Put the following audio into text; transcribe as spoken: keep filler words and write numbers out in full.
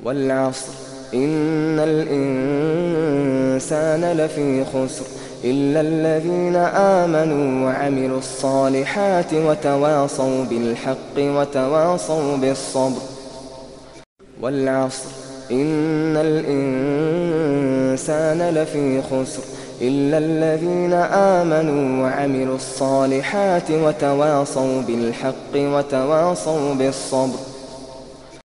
والعصر إن الإنسان لفي خسر إلا الذين آمنوا وعملوا الصالحات وتواصوا بالحق وتواصوا بالصبر. والعصر إن الإنسان لفي خسر إلا الذين آمنوا وعملوا الصالحات وتواصوا بالحق وتواصوا بالصبر.